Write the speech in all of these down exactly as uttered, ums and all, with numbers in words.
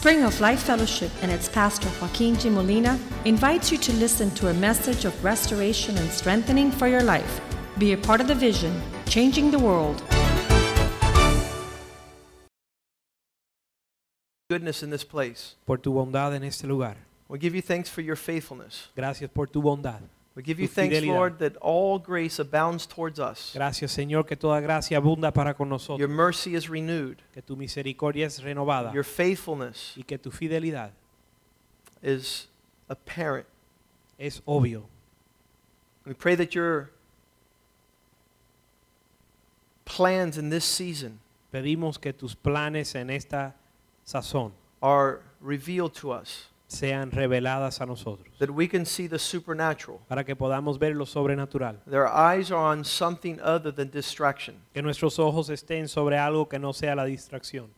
Spring of Life Fellowship and its pastor Joaquin G. Molina invites you to listen to a message of restoration and strengthening for your life. Be a part of the vision, changing the world. Goodness in this place. Por tu bondad en este lugar. We give you thanks for your faithfulness. Gracias por tu bondad. We give you tu thanks, fidelidad. Lord, that all grace abounds towards us. Gracias, Señor, que toda gracia abunda para con nosotros. Your mercy is renewed. Que tu misericordia es renovada. Your faithfulness y que tu fidelidad is apparent. Es obvio. We pray that your plans in this season Pedimos que tus planes en esta sazón are revealed to us, sean reveladas a nosotros, that we can see the supernatural. para que podamos ver lo sobrenatural. Their eyes are on something other than distraction. Que nuestros ojos estén sobre algo que no sea la distracción.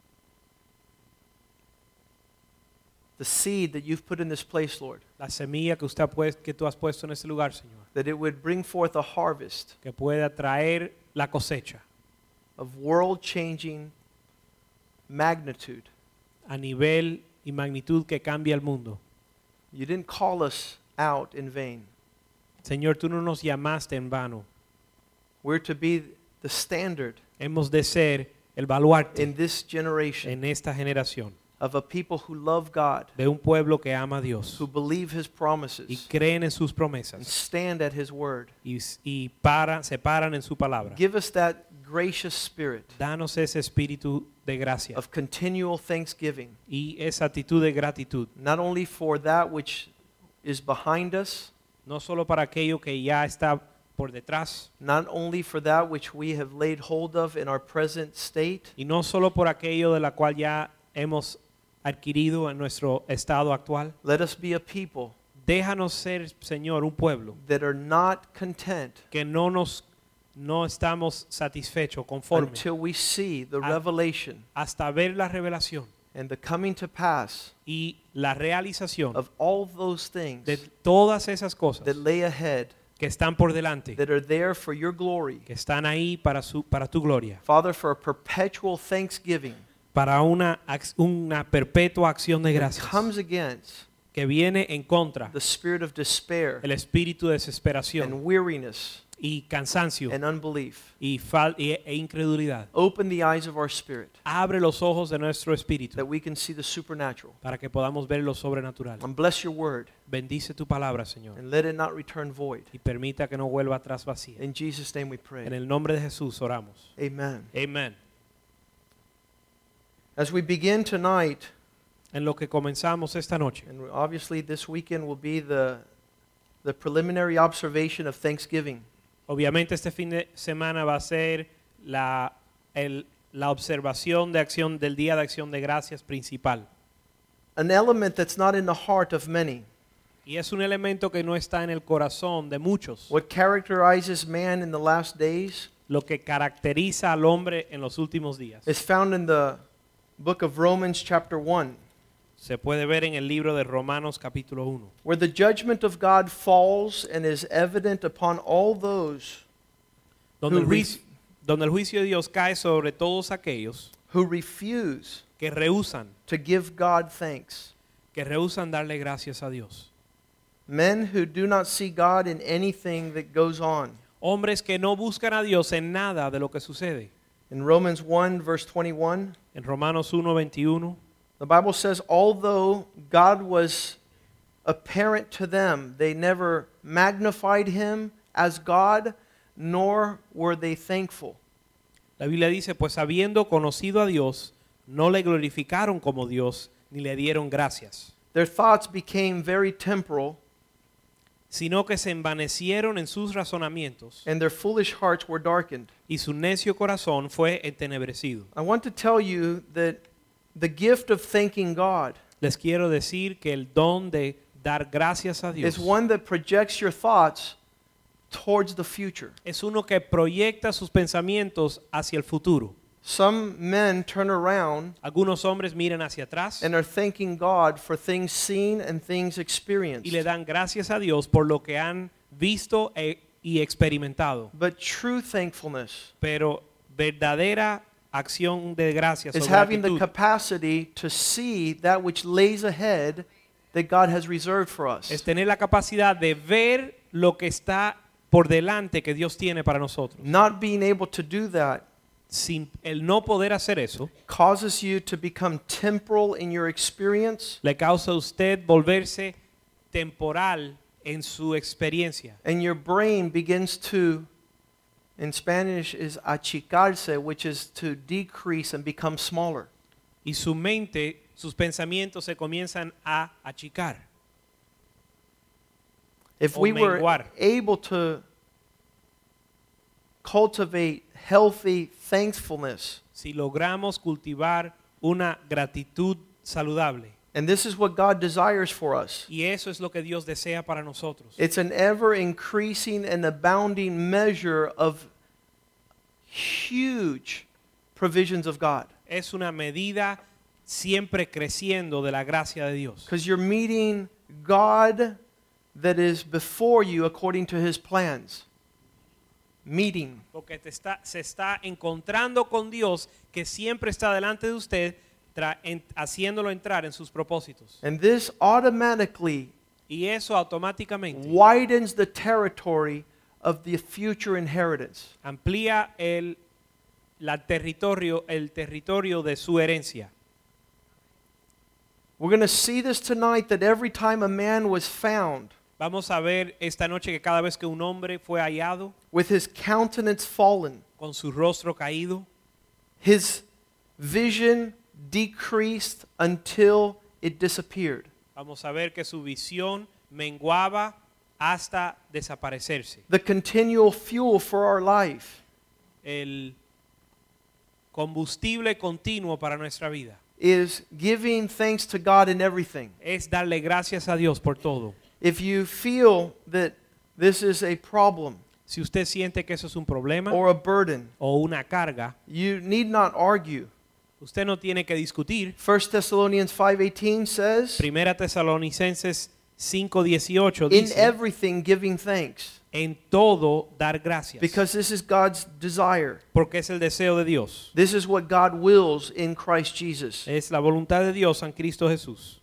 The seed that you've put in this place, Lord, La semilla que usted ha puesto, que tú has puesto en este lugar, Señor, that it would bring forth a harvest que pueda traer la cosecha of world-changing magnitude. a nivel y magnitud que cambia el mundo. You didn't call us out in vain. Señor, tú no nos llamaste en vano. We're to be the standard Hemos de ser el baluarte in this generation en esta generación of a people who love God, de un pueblo que ama a Dios who believe His y promises, creen en sus and promesas stand at His word. y, y para, se paran en su palabra. Give us that gracious spirit Danos ese espíritu de gracia of continual thanksgiving, y esa actitud de gratitud, not only for that which is behind us, no solo para aquello que ya está por detrás not only for that which we have laid hold of in our present state, y no solo por aquello de la cual ya hemos adquirido en nuestro estado actual. let us be a people Déjanos ser, Señor, un pueblo that are not content que no nos no estamos satisfechos, conformes, until we see the Ah. revelation hasta ver la revelación and the coming to pass y la realización of all those things de todas esas cosas that lay ahead, que están por delante, that are there for your glory. que están ahí para su para tu gloria, Father, for a perpetual thanksgiving para una ac- una perpetua acción de that gracias comes against que viene en contra the spirit of despair el espíritu de desesperación and weariness y cansancio and unbelief. y, fal- y- e incredulidad. Open the eyes of our spirit Abre los ojos de nuestro espíritu that we can see the supernatural. para que podamos ver lo sobrenatural. And bless your word Bendice tu palabra, Señor, and let it not return void. y permita que no vuelva atrás vacía. In Jesus' name we En pray. el nombre de Jesús oramos. Amen. Amén. As we begin tonight, En lo que comenzamos esta noche, and obviously this weekend will be the, the preliminary observation of Thanksgiving. obviamente este fin de semana va a ser la, el- la observación de acción del Día de Acción de Gracias principal. An element that's not in the heart of many. Y es un elemento que no está en el corazón de muchos. What characterizes man in the last days Lo que caracteriza al hombre en los últimos días. is found in the book of Romans chapter one, Se puede ver en el libro de Romanos capítulo uno, where the judgment of God falls and is evident upon all those donde el, Who juicio, donde el juicio de Dios cae sobre todos aquellos who refuse que rehusan, to give God thanks. que rehusan darle gracias a Dios. Men who do not see God in anything that goes on. Hombres que no buscan a Dios en nada de lo que sucede. In Romans one verse twenty-one, En Romanos uno veintiuno, the Bible says, although God was apparent to them, they never magnified him as God, nor were they thankful. la Biblia dice, pues habiendo conocido a Dios, no le glorificaron como Dios, ni le dieron gracias, Their thoughts became very temporal, sino que se envanecieron en sus razonamientos, and their foolish hearts were darkened. y su necio corazón fue entenebrecido. I want to tell you that the gift of thanking God Les quiero decir que el don de dar gracias a Dios is one that projects your thoughts towards the future. es uno que proyecta sus pensamientos hacia el futuro. Some men turn around Algunos hombres miran hacia atrás and are thanking God for things seen and things experienced. y le dan gracias a Dios por lo que han visto e- y experimentado. But true thankfulness Pero verdadera acción de gracias is o having the gratitud capacity to see that which lays ahead that God has reserved for us. es tener la capacidad de ver lo que está por delante que Dios tiene para nosotros. Not being able to do that Sin el no poder hacer eso, causes you to become temporal in your experience, le causa a usted volverse temporal en su experiencia. and your brain begins to, in Spanish is achicarse, which is to decrease and become smaller. Y su mente, sus pensamientos se comienzan a achicar. If O we were menguar. able to cultivate healthy thankfulness, Si logramos cultivar una gratitud saludable, and this is what God desires for us, y eso es lo que Dios desea para nosotros. it's an ever increasing and abounding measure of huge provisions of God. Es una medida siempre creciendo de la gracia de Dios. Because you're meeting God that is before you according to his plans. Meeting. Porque te está, se está encontrando con Dios que siempre está delante de usted, tra- en- haciéndolo entrar en sus propósitos. And this automatically Y eso automáticamente widens the territory of the future inheritance. amplía el, la territorio, el territorio de su herencia. We're going to see this tonight, that every time a man was found Vamos a ver esta noche que cada vez que un hombre fue hallado with his countenance fallen, con su rostro caído, his vision decreased until it disappeared. vamos a ver que su visión menguaba hasta desaparecerse. The continual fuel for our life El combustible continuo para nuestra vida is giving thanks to God in everything. es darle gracias a Dios por todo. If you feel that this is a problem Si usted siente que eso es un problema or a burden, o una carga, you need not argue. usted no tiene que discutir. First Thessalonians five eighteen says, Primera Tesalonicenses cinco dieciocho in dice, everything giving thanks, en todo dar gracias, because this is God's desire. porque es el deseo de Dios. This is what God wills in Christ Jesus. Es la voluntad de Dios en Cristo Jesús.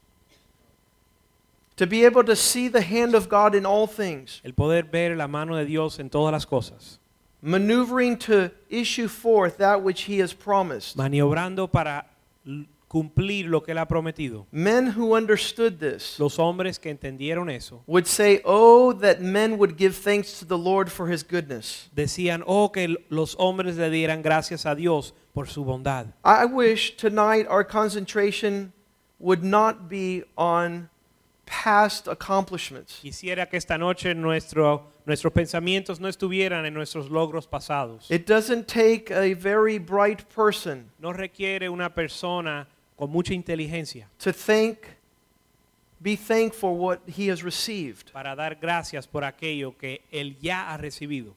To be able to see the hand of God in all things, El poder ver la mano de Dios en todas las cosas, maneuvering to issue forth that which he has promised. maniobrando para l- cumplir lo que él ha prometido. Men who understood this Los hombres que entendieron eso would say, oh, that men would give thanks to the Lord for his goodness. decían, oh, que l- los hombres le dieran gracias a Dios por su bondad. I wish tonight our concentration would not be on past accomplishments. Quisiera que esta noche nuestro, nuestros pensamientos no estuvieran en nuestros logros pasados. It doesn't take a very bright person No requiere una persona con mucha inteligencia to thank, be thankful for what he has received. para dar gracias por aquello que él ya ha recibido.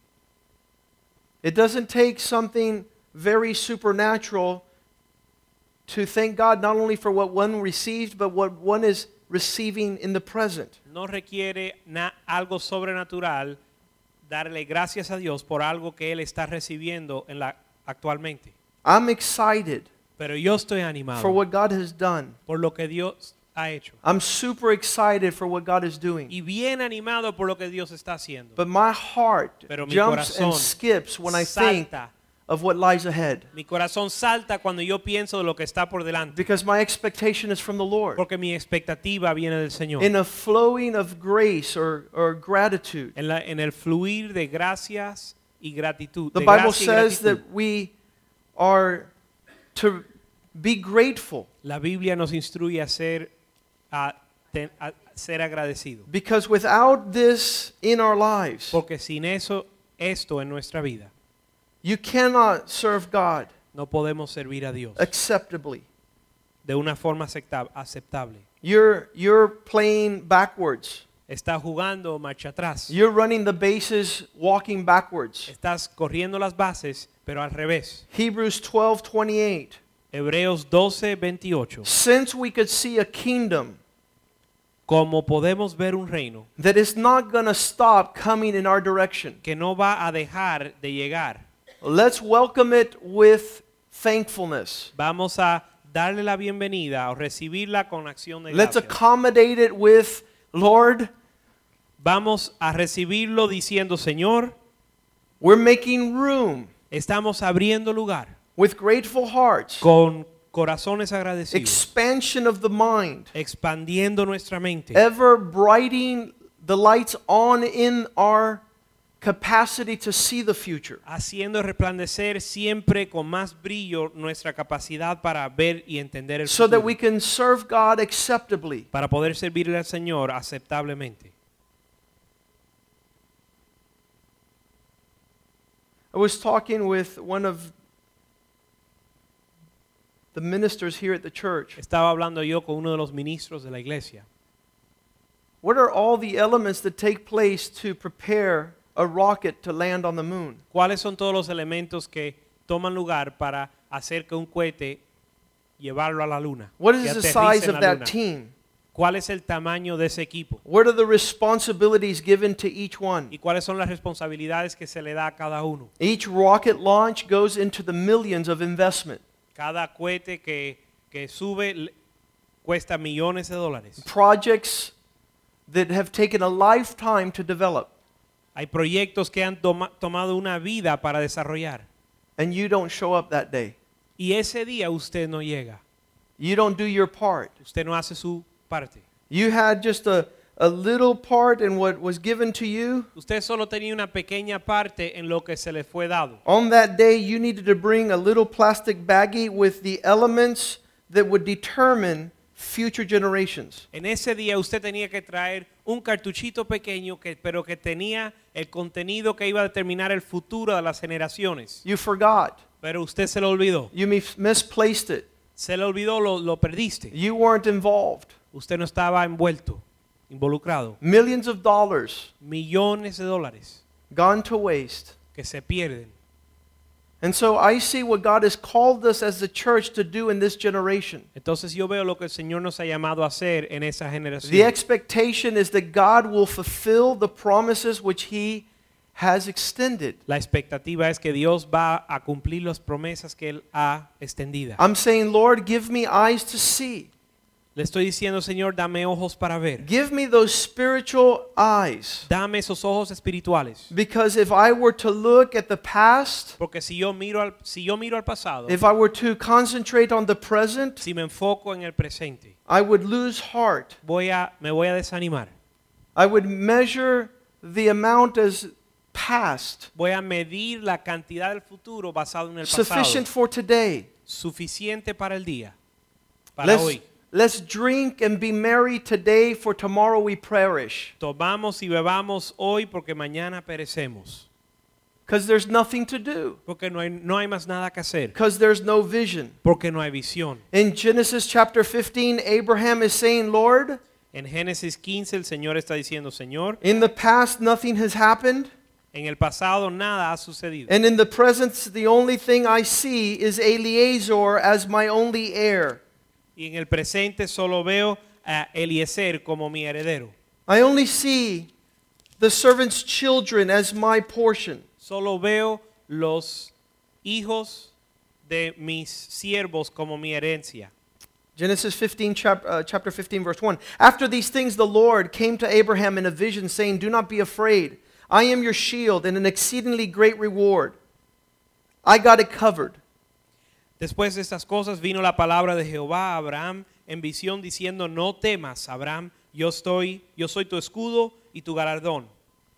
It doesn't take something very supernatural to thank God not only for what one received, but what one is receiving in the present. No requiere na- algo sobrenatural darle gracias a Dios por algo que él está recibiendo en la, actualmente. I'm excited Pero yo estoy for animado what God has done. por lo que Dios ha hecho. I'm super excited for what God is doing. Y bien animado por lo que Dios está haciendo. But my heart Pero mi jumps and corazón skips when I think salta. of what lies ahead. Mi corazón salta cuando yo pienso de lo que está por delante. Because my expectation is from the Lord. Porque mi expectativa viene del Señor. In a flowing of grace or, or gratitude. En, la- en el fluir de gracias y gratitud. The de Bible gracia y says gratitud. that we are to be grateful La Biblia nos instruye a ser, a, ten- a ser agradecido. because without this in our lives, Porque sin eso, esto en nuestra vida, you cannot serve God no podemos servir a Dios acceptably. de una forma acepta- aceptable. You're, you're playing backwards. Estás jugando marcha atrás. You're running the bases walking backwards. Estás corriendo las bases, pero al revés. Hebrews twelve twenty-eight. Hebreos doce veintiocho. Since we could see a kingdom Como podemos ver un reino that is not going to stop coming in our direction, que no va a dejar de llegar, let's welcome it with thankfulness. Vamos a darle la bienvenida o recibirla con acción de Let's gracias. accommodate it with, Lord, Vamos a recibirlo diciendo, Señor, we're making room estamos abriendo lugar with grateful hearts, con corazones agradecidos, expansion of the mind, expandiendo nuestra mente, ever brightening the lights on in our capacity to see the future. haciendo resplandecer siempre con más brillo nuestra capacidad para ver y entender el So that futuro, we can serve God acceptably. para poder servirle al Señor aceptablemente. I was talking with one of the ministers here at the church. Estaba hablando yo con uno de los ministros de la iglesia. What are all the elements that take place to prepare a rocket to land on the moon? ¿Cuáles son todos los elementos que toman lugar para hacer que un cohete llevarlo a la luna? What que is the aterrice size en of la that luna? team? ¿Cuál es el tamaño de ese equipo? What are the responsibilities given to each one? ¿Y cuáles son las responsabilidades que se le da a cada uno? Each rocket launch goes into the millions of investment. Cada cohete que, que sube le- cuesta millones de dólares. Projects that have taken a lifetime to develop, Hay proyectos que han toma- tomado una vida para desarrollar. and you don't show up that day. Y ese día usted no llega. You don't do your part. Usted no hace su parte. You had just a, a little part in what was given to you. Usted solo tenía una pequeña parte en lo que se le fue dado. On that day, you needed to bring a little plastic baggie with the elements that would determine future generations. En ese día usted tenía que traer un cartuchito pequeño, que, pero que tenía el contenido que iba a determinar el futuro de las generaciones. You forgot. Pero usted se lo olvidó. You mis- misplaced it. Se le olvidó, lo, lo perdiste. You weren't involved. Usted no estaba envuelto, involucrado. Millions of dollars Millones de dólares gone to waste. que se pierden. And so I see what God has called us as the church to do in this generation. Entonces yo veo lo que el Señor nos ha llamado a hacer en esa The generación. expectation is that God will fulfill the promises which He has extended. La expectativa es que Dios va a cumplir las promesas que Él ha extendido. I'm saying, Lord, give me eyes to see. Le estoy diciendo, Señor, dame ojos para ver. Give me those spiritual eyes. Dame esos ojos espirituales. Because if I were to look at the past, Porque si yo miro al, si yo miro al pasado, if I were to concentrate on the present, si me enfoco en el presente, I would lose heart. voy a, me voy a desanimar. I would measure the amount as past, Voy a medir la cantidad del futuro basado en el pasado. sufficient for today. Suficiente para el día, para Let's, hoy. let's drink and be merry today, for tomorrow we perish. Tomamos y bebamos hoy porque mañana perecemos. Because there's nothing to do. Porque no hay, no hay más nada que hacer. Because there's no vision. Porque no hay visión. In Genesis chapter fifteen, Abraham is saying, Lord, En Génesis quince el Señor está diciendo, Señor, in the past nothing has happened, en el pasado nada ha sucedido. and in the present the only thing I see is Eliezer as my only heir. Y en el presente solo veo a Eliezer como mi heredero. I only see the servants' children as my portion. Solo veo los hijos de mis siervos como mi herencia. Genesis fifteen, chap- uh, chapter fifteen, verse one. After these things, the Lord came to Abraham in a vision, saying, do not be afraid. I am your shield and an exceedingly great reward. I got it covered. Después de estas cosas vino la palabra de Jehová a Abraham en visión diciendo, no temas, Abraham, yo estoy, yo soy tu escudo y tu galardón.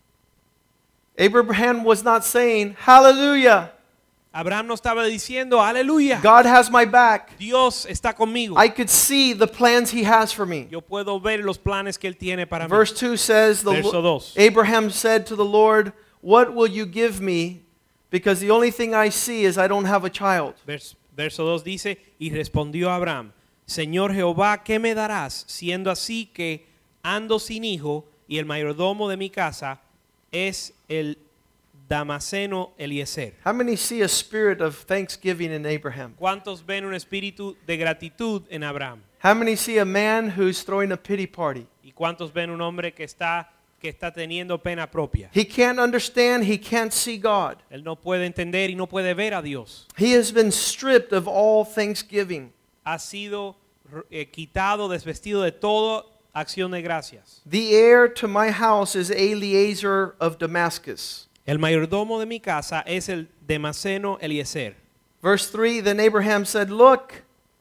Abraham was not saying, hallelujah, Abraham no estaba diciendo, aleluya, God has my back. Dios está conmigo. I could see the plans he has for me. Yo puedo ver los planes que él tiene para mí. Verse two says, the Verso Lo- dos. Abraham said to the Lord, what will you give me? Because the only thing I see is I don't have a child. Vers- Verso dos dice, y respondió Abraham, Señor Jehová, ¿qué me darás? Siendo así que ando sin hijo y el mayordomo de mi casa es el Damaseno Eliezer. How many see a spirit of thanksgiving in Abraham? ¿Cuántos ven un espíritu de gratitud en Abraham? How many see a man who's throwing a pity party? ¿Y cuántos ven un hombre que está que está teniendo pena propia. He can't understand, he can't see God. Él no puede entender y no puede ver a Dios. He has been stripped of all thanksgiving. Ha sido eh, quitado, desvestido de toda acción de gracias. The heir to my house is Eliezer of Damascus. El mayordomo de mi casa es el Damaseno Eliezer. Verse three, then Abraham said, look,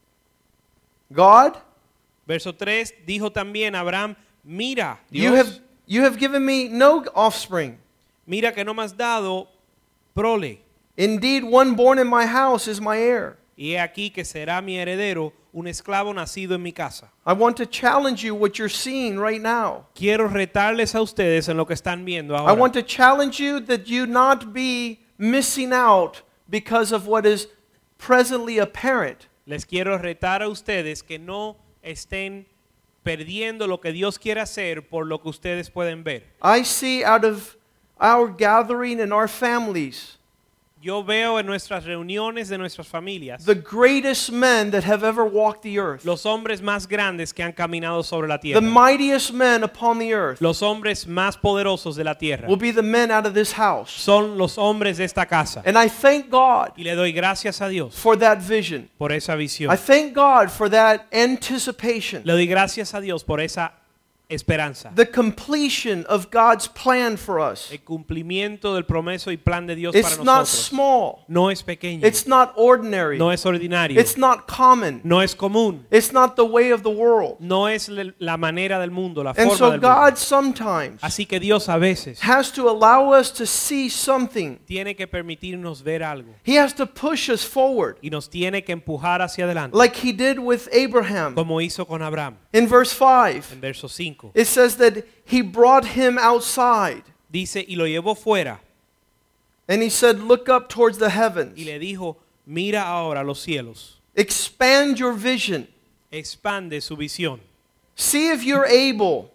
God, Verso tres, dijo también Abraham, mira, you Dios, have, you have given me no offspring. mira que no me has dado prole. Indeed, one born in my house is my heir. Y he aquí que será mi heredero un esclavo nacido en mi casa. I want to challenge you what you're seeing right now. Quiero retarles a ustedes en lo que están viendo I ahora. want to challenge you that you not be missing out because of what is presently apparent. Les quiero retar a ustedes que no estén perdiendo lo que Dios quiere hacer por lo que ustedes pueden ver. I see out of our gathering and our families Yo veo en nuestras reuniones de nuestras familias the greatest men that have ever walked the earth, los hombres más grandes que han caminado sobre la the tierra. mightiest men upon the earth Los hombres más poderosos de la tierra will be the men out of this house. son los hombres de esta casa. And I thank God Y le doy gracias a Dios for that vision. por esa visión. I thank God for that anticipation. Le doy gracias a Dios por esa esperanza. The completion of God's plan for us. El cumplimiento del promeso y plan de Dios para It's not nosotros. small. No es pequeño. It's not ordinary. No es ordinario. It's not common. No es común. It's not the way of the world. No es le- la manera del mundo, la And forma so del God mundo. sometimes Así que Dios a veces has to allow us to see something. tiene que permitirnos ver algo He has to push us forward y nos tiene que empujar hacia adelante, like he did with Abraham. como hizo con Abraham. In verse five, En verso cinco it says that he brought him outside dice, y lo llevó fuera and he said, look up towards the y heavens. le dijo, mira ahora los cielos, Expand your vision. expande su visión. See if you're able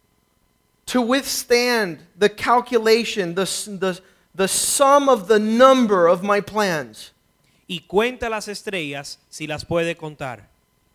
to withstand the calculation, the, the, the sum of the number of my plans. Y cuenta las estrellas si las puede contar.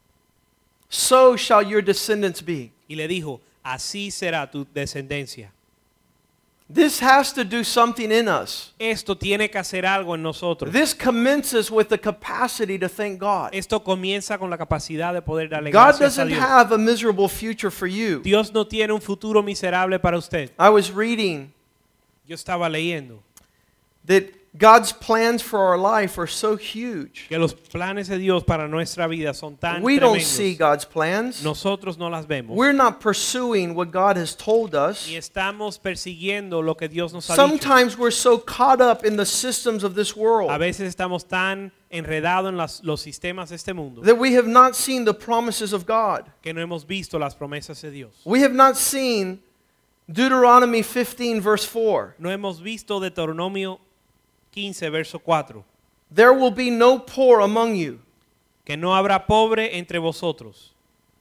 So shall your descendants be. Y le dijo, así será tu descendencia. This has to do something in us. Esto tiene que hacer algo en nosotros. This commences with the capacity to thank God. Esto comienza con la capacidad de poder darle God gracias a doesn't Dios. have a miserable future for you. Dios no tiene un futuro miserable para usted. I was reading Yo estaba leyendo that God's plans for our life are so huge. que los planes de Dios para nuestra vida son tan We don't see tremendos. God's plans. Nosotros no las vemos. We're not pursuing what God has told us. Ni estamos persiguiendo lo que Dios nos ha dicho. Sometimes we're so caught up in the systems of this A world veces estamos tan enredados en las- los sistemas de este mundo that we have not seen the promises of God. que no hemos visto las promesas de Dios. We have not seen Deuteronomy fifteen verse four. No hemos visto Deuteronomio quince, verso cuatro. There will be no poor among you. Que no habrá pobre entre vosotros.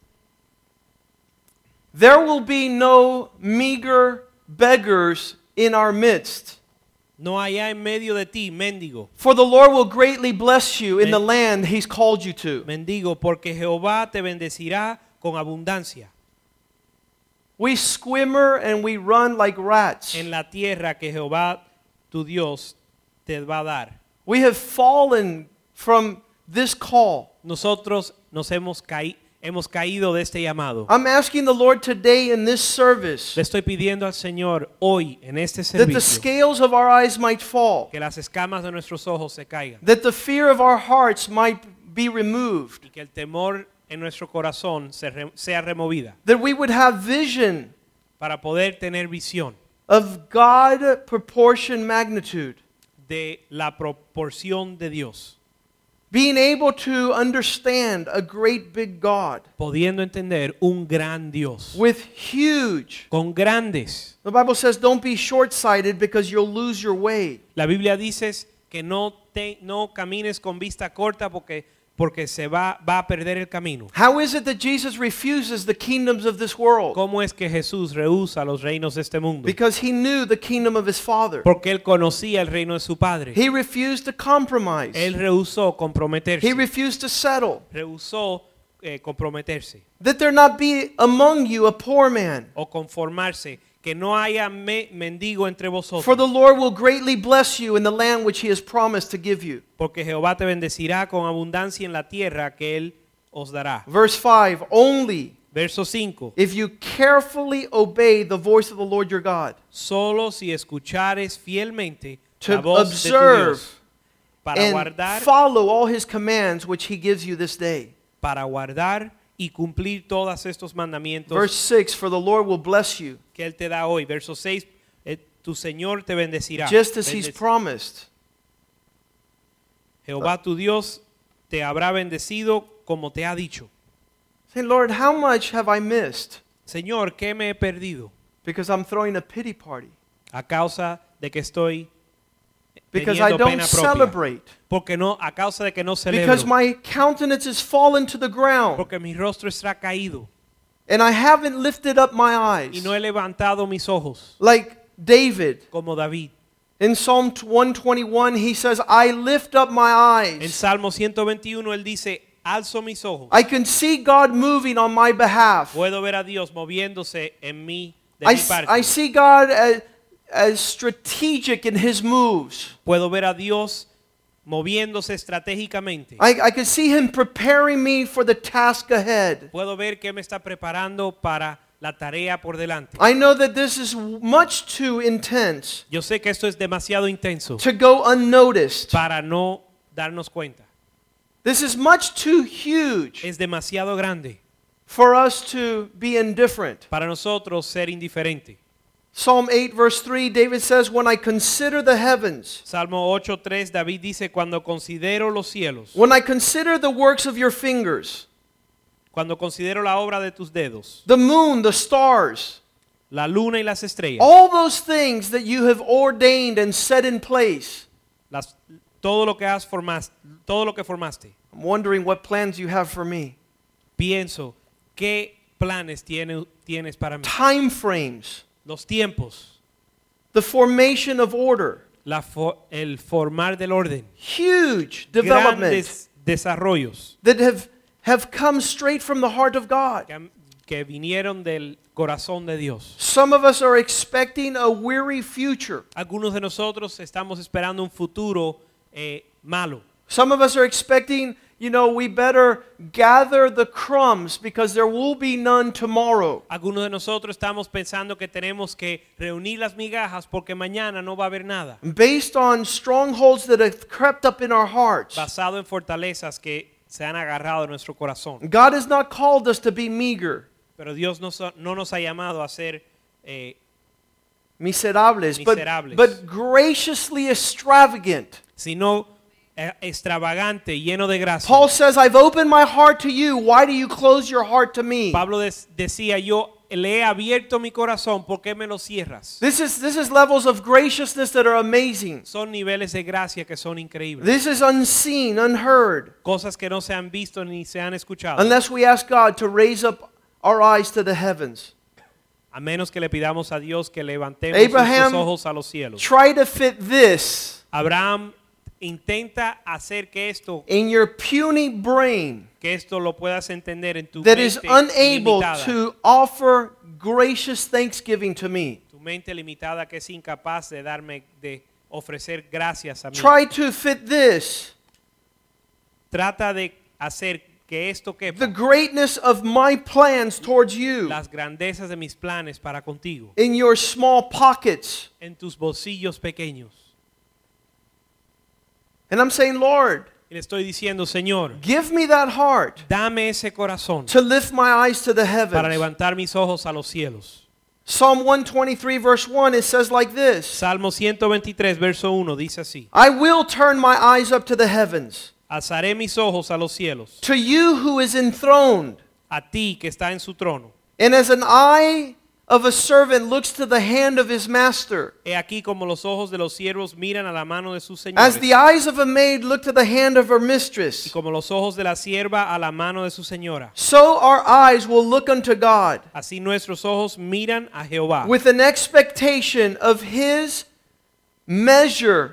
There will be no meager beggars in our midst. No haya en medio de ti mendigo. For the Lord will greatly bless you in Men- the land he's called you to. Mendigo, porque Jehová te bendecirá con abundancia We swimmer and we run like rats. en la tierra que Jehová tu Dios te va a dar. We have fallen from this call. Nosotros nos hemos, caí- hemos caído de este llamado. I'm asking the Lord today in this service Le estoy pidiendo al Señor hoy en este that the servicio scales of our eyes might fall, que las escamas de nuestros ojos se caigan that the fear of our hearts might be removed, y que el temor en nuestro corazón se re- sea removida that we would have vision para poder tener visión of God proportion magnitude, de la proporción de Dios, being able to understand a great big God pudiendo entender un gran Dios with huge. con grandes. The Bible says don't be short-sighted because you'll lose your way. La Biblia dice que no te, no camines con vista corta porque porque se va va a perder el camino. How is it that Jesus refuses the kingdoms of this world? ¿Cómo es que Jesús rehúsa los reinos de este mundo? Because he knew the kingdom of his Father. Porque él conocía el reino de su padre. He refused to compromise. Él rehusó comprometerse. He refused to settle. Rehusó eh, comprometerse That there not be among you a poor man. o conformarse, que no haya me- mendigo entre vosotros. For the Lord will greatly bless you in the land which he has promised to give you. Porque Jehová te bendecirá con abundancia en la tierra que él os dará. Verse five, only Verso cinco. if you carefully obey the voice of the Lord your God, Solo si escuchares fielmente to la voz de tu observe Dios para and guardar, follow all his commands which he gives you this day. para guardar y cumplir todos estos mandamientos Verse six, for the Lord will bless you, que él te da hoy. Verso seis. eh, Tu Señor te bendecirá. just as he's Bendec- promised. Jehová tu Dios te habrá bendecido como te ha dicho. Say, Lord, how much have I missed? Señor, ¿qué me he perdido? Because I'm throwing a pity party. A causa de que estoy Because I teniendo don't pena propia. celebrate. Porque no, a causa de que no celebro. Because my countenance has fallen to the ground. Porque mi rostro está caído And I haven't lifted up my y eyes. no he levantado mis ojos Like David. como David. In Psalm one twenty-one, he says, I lift up my En eyes. Salmo ciento veintiuno él dice, alzo mis ojos. I can see God moving on my behalf. Puedo ver a Dios moviéndose en mí de I, mi s- parte. I see God as, as strategic in his moves. Puedo ver a Dios moviéndose estratégicamente. I, I can see him preparing me for the task ahead. Puedo ver que me está preparando para la tarea por delante. I know that this is much too intense Yo sé que esto es demasiado intenso to go unnoticed. para no darnos cuenta. This is much too huge Es demasiado grande for us to be indifferent. para nosotros ser indiferente. Psalm eight verse three, David says, when I consider the heavens, Salmo ocho tres David dice, cuando considero los cielos, when I consider the works of your fingers, cuando considero la obra de tus dedos, the moon, the stars, la luna y las estrellas, all those things that you have ordained and set in place, las, todo lo que has formaste, todo lo que formaste, I'm wondering what plans you have for me. pienso, ¿qué planes tiene, tienes para mí? Time frames, Los tiempos, the formation of order, la fo- el formar del orden, huge development grandes desarrollos that have, have come straight from the heart of God. que, han- que vinieron del corazón de Dios. Some of us are expecting a weary future. Algunos de nosotros estamos esperando un futuro eh, malo. Some of us are expecting, you know, we better gather the crumbs because there will be none tomorrow. Algunos de nosotros estamos pensando que tenemos que reunir las migajas porque mañana no va a haber nada. Based on strongholds that have crept up in our hearts. Basado en fortalezas que se han agarrado en nuestro corazón. God has not called us to be meager, Pero Dios nos ha- no nos ha llamado a ser eh, miserables, but, Miserables. but graciously extravagant. sino eh, extravagante, lleno de gracia. Paul says, I've opened my heart to you. Why do you close your heart to me? Pablo des- decía, yo le he abierto mi corazón, ¿por qué me lo cierras? This is, this is levels of graciousness that are amazing. Son niveles de gracia que son increíbles. This is unseen, unheard, Cosas que no se han visto ni se han escuchado. unless we ask God to raise up our eyes to the heavens. A menos que le pidamos a Dios que levantemos Abraham nuestros ojos a los cielos. Try to fit this Abraham intenta hacer que esto, in your puny brain que esto lo puedas entender en tu that is mente unable limitada. to offer gracious thanksgiving to me. Tu mente limitada que es incapaz de darme, de ofrecer gracias a mí. Try to fit this, Trata de hacer que esto the quepa greatness of my plans towards you, las grandezas de mis planes para contigo in your small pockets. en tus bolsillos pequeños. And I'm saying, Lord, Y le estoy diciendo, Señor, give me that heart dame ese corazón to lift my eyes to the para heavens. levantar mis ojos a los cielos. Psalm one twenty-three verse one, it says like this, Salmo ciento veintitrés, verso uno, dice así. I will turn my eyes up to the heavens, Alzaré mis ojos a los cielos, to you who is enthroned. a ti que está en su trono. And as an eye of a servant looks to the hand of his master, He aquí como los ojos de los siervos miran a la mano de sus as señores, the eyes of a maid look to the hand of her y mistress, como los ojos de la sierva a la mano de su señora. so our eyes will look unto God Así nuestros ojos miran a Jehová with an expectation of his measure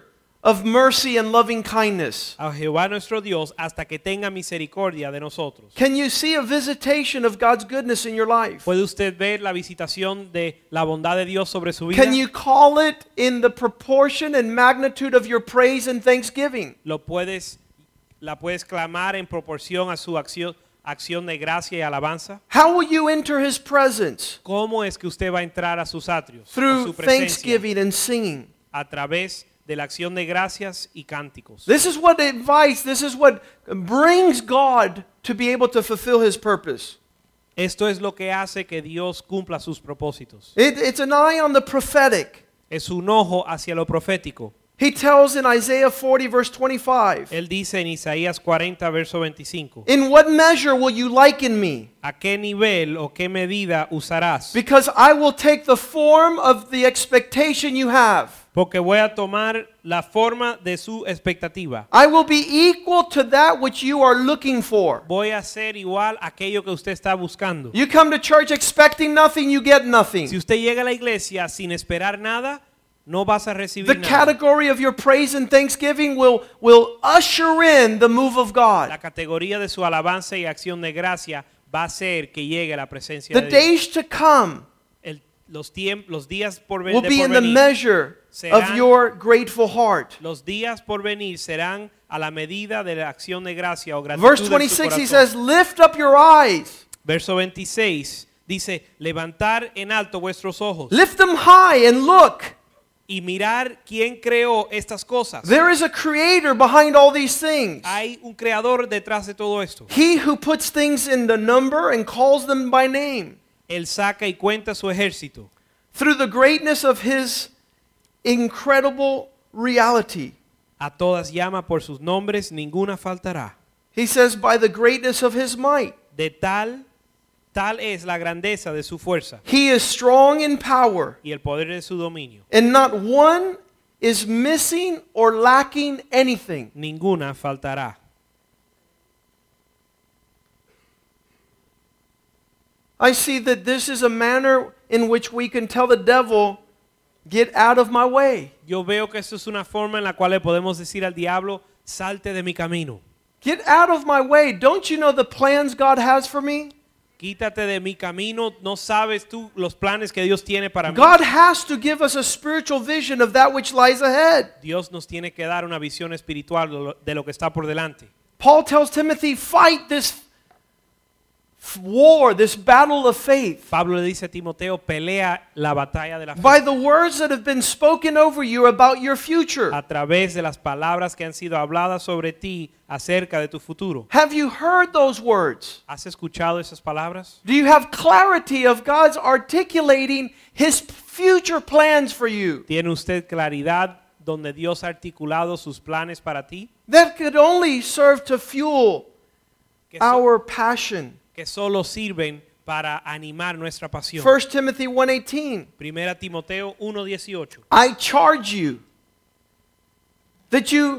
of mercy and loving kindness. a Jehová nuestro Dios hasta que tenga misericordia de nosotros. Can you see a visitation of God's goodness in your life? ¿Puede usted ver la visitación de la bondad de Dios sobre su vida? Can you call it in the proportion and magnitude of your praise and thanksgiving? Lo puedes, la puedes clamar en proporción a su acción, acción de gracia y alabanza. How will you enter his presence? ¿Cómo es que usted va a entrar a sus atrios, a Through su presencia, thanksgiving and singing. a través de la acción de gracias y cánticos? This is what invites, this is what brings God to be able to fulfill his purpose. Esto es lo que hace que Dios cumpla sus propósitos. It, it's an eye on the prophetic. Es un ojo hacia lo profético. He tells in Isaiah forty verse twenty-five, Él dice en Isaías cuarenta, verso veinticinco, in what measure will you liken me? ¿a qué nivel o qué medida usarás? Because I will take the form of the expectation you have. Porque voy a tomar la forma de su expectativa. I will be equal to that which you are looking for. Voy a ser igual a aquello que usted está buscando. You come to church expecting nothing, you get Si nothing. usted llega a la iglesia sin esperar nada, no vas a recibir The nada. category of your praise and thanksgiving will, will usher in the move of La God. categoría de su alabanza y acción de gracia va a hacer que llegue la presencia The de Dios. days to come El- los, tiemp- los días por, ven- will de be por in the venir, measure of serán- your grateful heart. los días por venir serán a la medida de la acción de gracia o gratitud Verse de su twenty-six, he corazón. says, lift up your eyes. Verso veintiséis dice, levantar en alto vuestros ojos Lift them high and look. y mirar quién creó estas cosas. There is a creator behind all these things. Hay un creador detrás de todo esto. He who puts things in the number and calls them by name. Él saca y cuenta su ejército. Through the greatness of his incredible reality. A todas llama por sus nombres, ninguna faltará. He says, by the greatness of his might. De tal, tal es la grandeza de su fuerza He is strong in power, y el poder de su dominio. and not one is missing or lacking anything. Ninguna faltará. I see that this is a manner in which we can tell the devil, get out of my way. Yo veo que esto es una forma en la cual le podemos decir al diablo, salte de mi camino. Get out of my way. Don't you know the plans God has for me? Quítate de mi camino, no sabes tú los planes que Dios tiene para mí. God has to give us a spiritual vision of that which lies ahead. Dios nos tiene que dar una visión espiritual de lo, de lo que está por delante. Paul tells Timothy, fight this f- war, this battle of faith. Pablo le dice a Timoteo, pelea la batalla de la fe By the words that have been spoken over you about your future. a través de las palabras que han sido habladas sobre ti acerca de tu futuro. Have you heard those words? ¿Has escuchado esas palabras? Do you have clarity of God's articulating his future plans for you? ¿Tiene usted claridad donde Dios ha articulado sus planes para ti? That could only serve to fuel Que, so- our passion. que solo sirven para animar nuestra pasión. First Timothy one eighteen. Primera Timoteo uno dieciocho. I charge you that you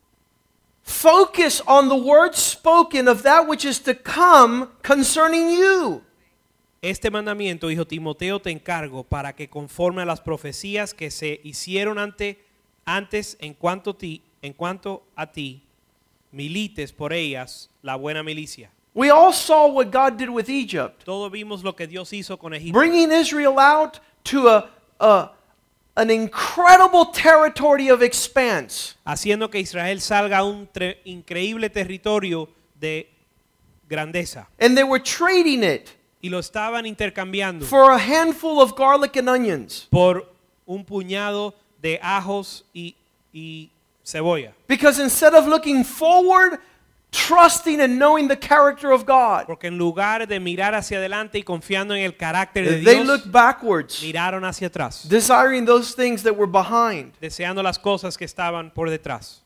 focus on the words spoken of that which is to come concerning you. Este mandamiento, hijo Timoteo, te encargo para que conforme a las profecías que se hicieron ante, antes en cuanto, ti, en cuanto a ti, milites por ellas la buena milicia. We all saw what God did with Egypt, Todos vimos lo que Dios hizo con Egipto, bringing Israel out to a, a an incredible territory of expanse. haciendo que Israel salga a un tre- increíble territorio de grandeza. And they were trading it Y lo estaban intercambiando for a handful of garlic and onions. por un puñado de ajos y, y cebolla. Because instead of looking forward, trusting and knowing the character of God, Porque en lugar de mirar hacia adelante y confiando en el carácter de they Dios, looked backwards, miraron hacia atrás, desiring those things that were behind. deseando las cosas que estaban por detrás.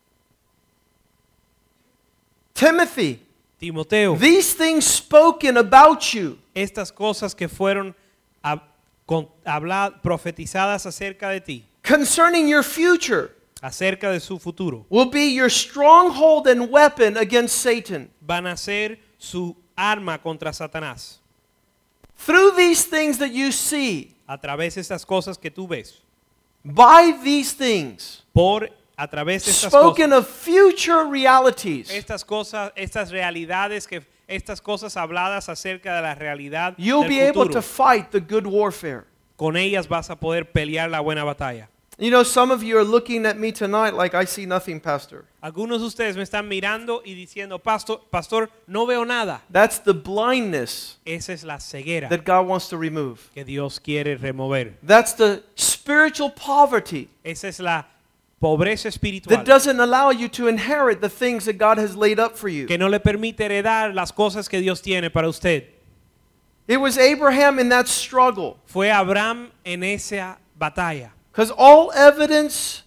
Timothy, Timoteo, these things spoken about you estas cosas que fueron hab- con- habla- profetizadas acerca de ti, concerning your future acerca de su futuro, will be your stronghold and weapon against Satan. van a ser su arma contra Satanás. Through these things that you see, A través de estas cosas que tú ves, by these things, por a través de estas spoken cosas, of future realities, estas cosas, estas realidades que estas cosas habladas acerca de la realidad you'll del be able futuro, to fight the good warfare. con ellas vas a poder pelear la buena batalla. You know, some of you are looking at me tonight like I see nothing, Pastor. Algunos de ustedes me están mirando y diciendo, pastor, pastor, no veo nada. That's the blindness Esa es la ceguera that God wants to remove. que Dios quiere remover. That's the spiritual poverty Esa es la pobreza espiritual that doesn't allow you to inherit the things that God has laid up for you. que no le permite heredar las cosas que Dios tiene para usted. It was Abraham in that struggle. Fue Abraham en esa batalla. Because all evidence,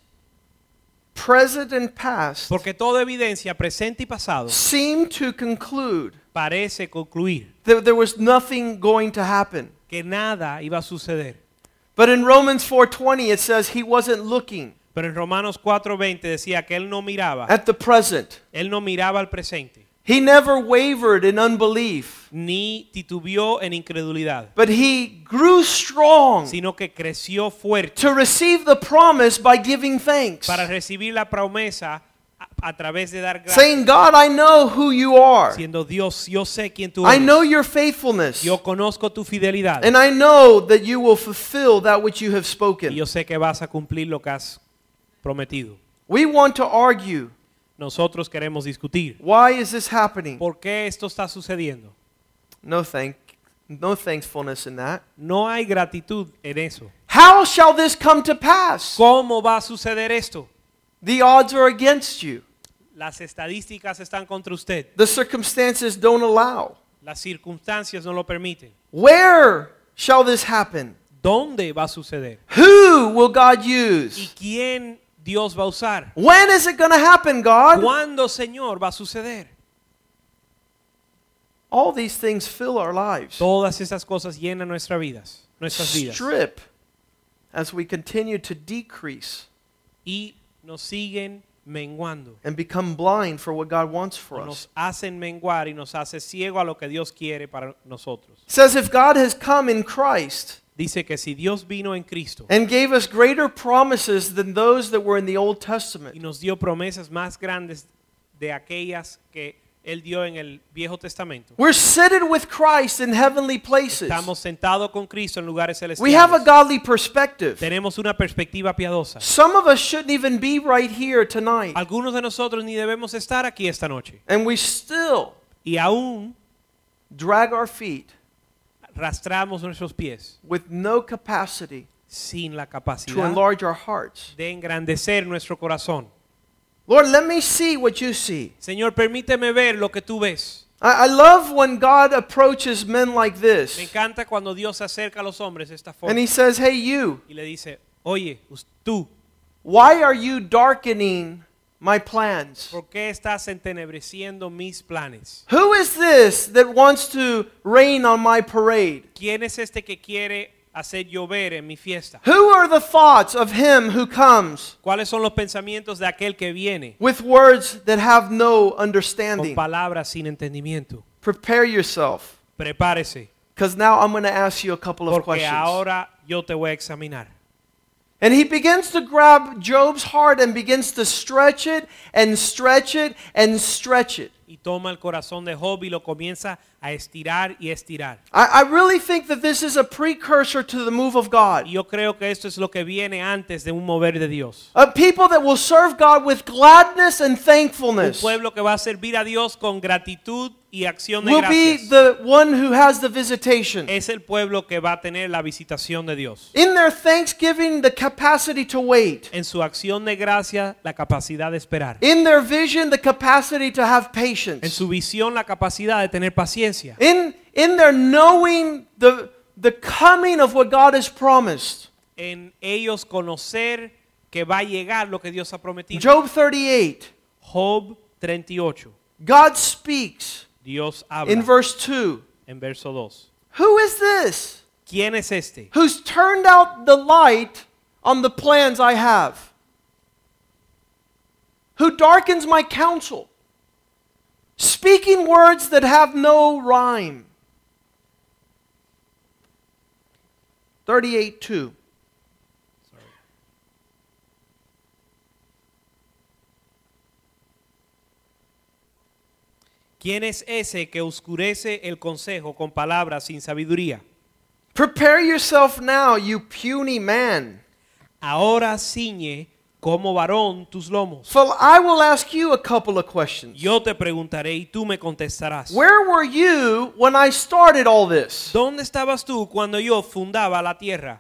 present and past, Porque toda evidencia presente y pasado seemed to conclude parece concluir that there was nothing going to happen. que nada iba a suceder. But in Romans four twenty it says he wasn't looking Pero en Romanos cuatro veinte decía que él no miraba, at the present. él no miraba al presente, He never wavered in unbelief, ni titubeó en incredulidad, but he grew strong sino que creció fuerte to receive the promise by giving thanks, para recibir la promesa a, a través de dar gracias, saying, God, I know who you are. siendo Dios, yo sé quién tú I know eres, your faithfulness, yo conozco tu fidelidad and I know that you will fulfill that which you have y spoken. yo sé que vas a cumplir lo que has prometido. We want to argue. Nosotros queremos discutir. Why is this happening? ¿Por qué esto está sucediendo? No thank, no thankfulness in that. No hay gratitud en eso. How shall this come to pass? ¿Cómo va a suceder esto? The odds are against you. Las estadísticas están contra usted. The circumstances don't allow. Las circunstancias no lo permiten. Where shall this happen? ¿Dónde va a suceder? Who will God ¿Y use? quién Dios va a usar? When is it going to happen, God? ¿Cuándo, Señor, va a suceder? All these things fill our lives. Todas esas cosas llenan nuestras vidas, nuestras vidas. Strip as we continue to decrease Y nos siguen menguando. and become blind for what God wants for us. Nos hacen menguar y nos hace ciego a lo que Dios quiere para nosotros. It says if God has come in Christ Dice que si Dios vino en Cristo and gave us greater promises than those that were in the Old y Testament, nos dio promesas más grandes de aquellas que Él dio en el Viejo Testamento, we're seated with Christ in heavenly places. estamos sentados con Cristo en lugares We have a celestiales. godly perspective. Tenemos una perspectiva piadosa. Some of us shouldn't even be right here tonight. Algunos de nosotros ni debemos estar aquí esta noche. And we still Y aún drag our feet arrastramos nuestros pies with no capacity sin la to capacidad enlarge our hearts. de engrandecer nuestro corazón. Lord, let me see what you see. Señor, permíteme ver lo que tú ves. I, I love when God approaches men like Me this. encanta cuando Dios se acerca a los hombres de esta And forma he says, hey, you, y le dice, oye, us- tú, why are you darkening my plans? ¿por qué estás entenebreciendo mis planes? Who is this that wants to rain on my parade? ¿Quién es este que quiere hacer llover en mi fiesta? Who are the thoughts of him who comes ¿Cuáles son los pensamientos de aquel que viene with words that have no con understanding? palabras sin entendimiento? Prepare yourself, Prepárese, because now I'm going to ask you a couple of porque questions. ahora yo te voy a examinar. And he begins to grab Job's heart and begins to stretch it and stretch it and stretch it. Y toma el corazón de Job y lo comienza a estirar y estirar. I, I really think that this is a precursor to the move of God. Y yo creo que esto es lo que viene antes de un mover de Dios. A people that will serve God with gladness and Un thankfulness pueblo que va a servir a Dios con gratitud y acción de will be gracias. the one who has the visitation. Es el pueblo que va a tener la visitación de Dios. In their thanksgiving, the capacity to wait. En su acción de gracia, la capacidad de esperar. In their vision, the capacity to have En patience. su visión, la capacidad de tener paciencia. In, in their knowing the, the coming of what God has promised. En ellos conocer que va a llegar lo que Dios ha prometido. Job thirty-eight, Job treinta y ocho. God speaks Dios in habla verse two. en verso dos. Who is this ¿Quién es este? who's turned out the light on the plans I have? Who darkens my counsel, speaking words that have no rhyme. thirty-eight two. ¿Quién es ese que oscurece el consejo con palabras sin sabiduría? Prepare yourself now, you puny man. Ahora ciñe como varón tus lomos. So I will ask you a couple of questions. Yo te preguntaré y tú me contestarás. Where were you when I started all this? ¿Dónde estabas tú cuando yo fundaba la tierra?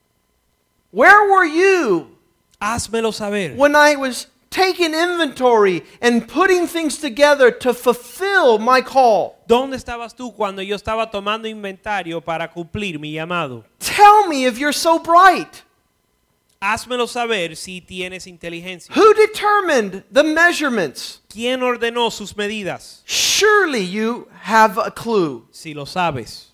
Where were you Házmelo saber. when I was taking inventory and putting things together to fulfill my call? ¿Dónde estabas tú cuando yo estaba tomando inventario para cumplir mi llamado? Tell me if you're so bright. Házmelo saber si tienes inteligencia. Who determined the measurements? ¿Quién ordenó sus medidas? Surely you have a clue. Si lo sabes.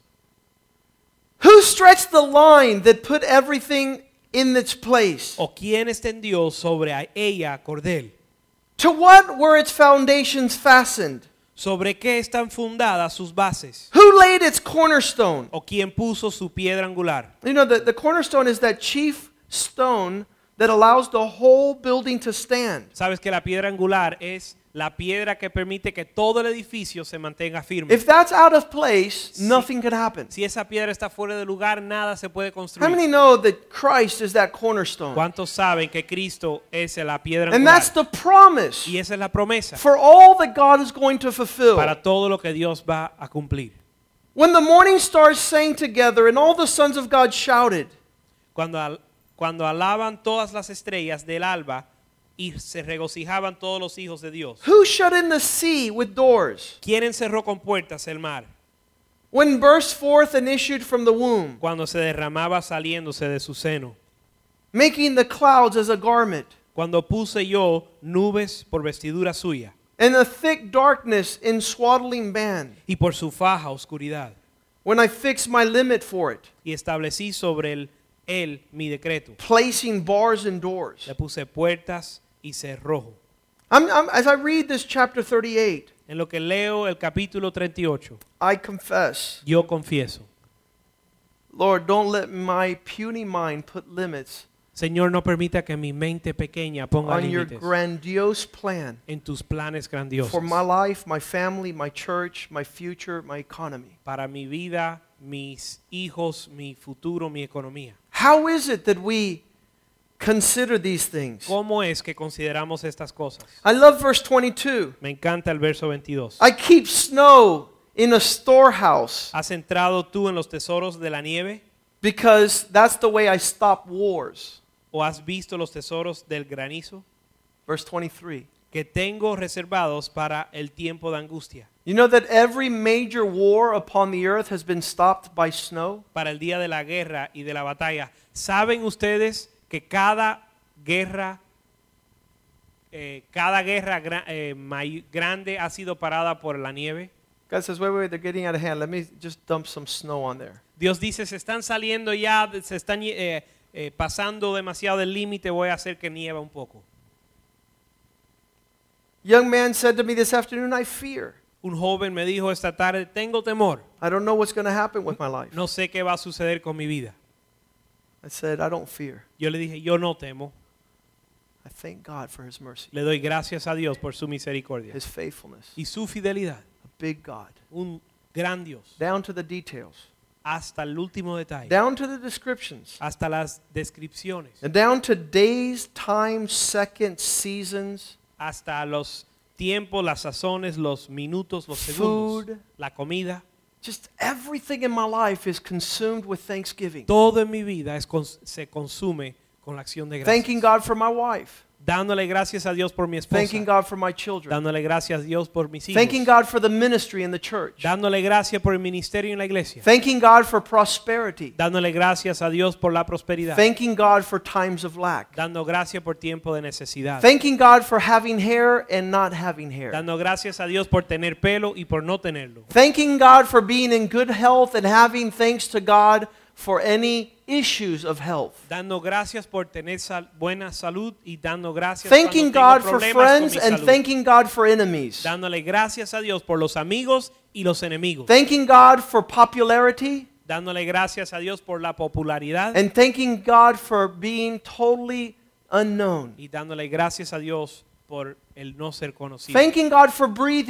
Who stretched the line that put everything in its place? ¿O quién extendió sobre a ella cordel? To what were its foundations fastened? ¿Sobre qué están fundadas sus bases? Who laid its cornerstone? ¿O quién puso su piedra angular? You know, the, the cornerstone is that chief stone that allows the whole building to stand. Sabes que la piedra angular es la piedra que permite que todo el edificio se mantenga firme. If that's out of place, nothing could happen. Si esa piedra está fuera de lugar, nada se puede How construir. many know that Christ is that cornerstone? ¿Cuántos saben que Cristo es la piedra And angular? that's the promise Y esa es la promesa for all that God is going to fulfill. para todo lo que Dios va a cumplir. When the morning stars sang together and all the sons of God shouted, Cuando, al- cuando alaban todas las estrellas del alba y se regocijaban todos los hijos de Dios. who shut in the sea with doors? ¿Quién encerró con puertas el mar? When burst forth and issued from the womb, Cuando se derramaba saliéndose de su seno. making the clouds as a garment, Cuando puse yo nubes por vestidura suya and a thick darkness in swaddling band, y por su faja oscuridad. when I fixed my limit for it, Y establecí sobre él, él mi decreto. placing bars and doors. Le puse puertas y cerrojo. I'm, I'm, as I read this chapter thirty-eight, En lo que leo el capítulo treinta y ocho, I confess, yo confieso, Lord, don't let my puny mind put limits Señor, no permita que mi mente pequeña ponga on your límites grandiose plan en tus planes grandiosos for my life, my family, my church, my future, my economy. para mi vida, mis hijos, mi futuro, mi economía. How is it that we consider these things? ¿Cómo es que consideramos estas cosas? I love verse twenty-two. Me encanta el verso veintidós. I keep snow in a storehouse ¿Has entrado tú en los tesoros de la nieve? because that's the way I stop wars. ¿O has visto los tesoros del granizo? Verse twenty-three. Que tengo reservados para el tiempo de angustia, You know that every major war upon the earth has been stopped by snow? para el día de la guerra y de la batalla. ¿Saben ustedes que cada guerra, eh, cada guerra gra- eh, may- grande ha sido parada por la nieve? God says, wait, wait, they're getting out of hand. Let me just dump some snow on there. Dios dice, se están saliendo ya, se están eh, eh, pasando demasiado del límite, voy a hacer que nieva un poco. Young man said to me this afternoon, I fear. Un joven me dijo esta tarde, tengo temor, I don't know what's going to happen with my life. no sé qué va a suceder con mi vida. I said, I don't fear. Yo le dije, yo no temo, I thank God for his mercy, le doy gracias a Dios por su misericordia his faithfulness. y su fidelidad. A big God. Un gran Dios, Down to the details. hasta el último detalle, Down to the descriptions. hasta las descripciones, And down to days, times, seconds, seasons, hasta los tiempos, las sazones, los minutos, los segundos, Food. la comida. just everything in my life is consumed with thanksgiving. Todo en mi vida es cons- se consume con la acción de gracias. Thanking God for my wife. Dándole gracias a Dios por mi esposa, Thanking God for my children. dándole gracias a Dios por mis hijos, Thanking God for the ministry in the church. dándole gracias por el ministerio en la iglesia, Thanking God for prosperity. dándole gracias a Dios por la prosperidad, Thanking God for times of lack. dando gracias por tiempo de necesidad, Thanking God for having hair and not having hair. dando gracias a Dios por tener pelo y por no tenerlo, Thanking God for being in good health and having thanks to God for any issues of health. dando gracias por tener sal- buena salud y dando gracias Thanking cuando God tengo for problemas con friends mi and salud. thanking God for enemies. Dándole gracias a Dios por los amigos y los enemigos, Thanking God for popularity dándole gracias a Dios por la popularidad and thanking God for being totally unknown. y dándole gracias a Dios por el no ser conocido, Thanking God for breathing.